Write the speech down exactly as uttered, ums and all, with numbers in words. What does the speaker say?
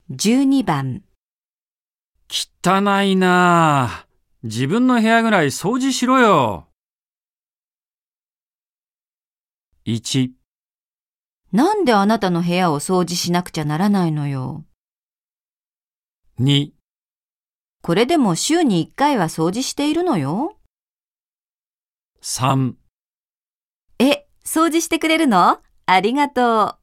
じゅうにばん。 汚いなあ。自分の部屋ぐらい掃除しろよ。いち、 なんであなたの部屋を掃除しなくちゃならないのよ。 に、 これでも週にいっかいは掃除しているのよ。 さん、 え、掃除してくれるの？ありがとう。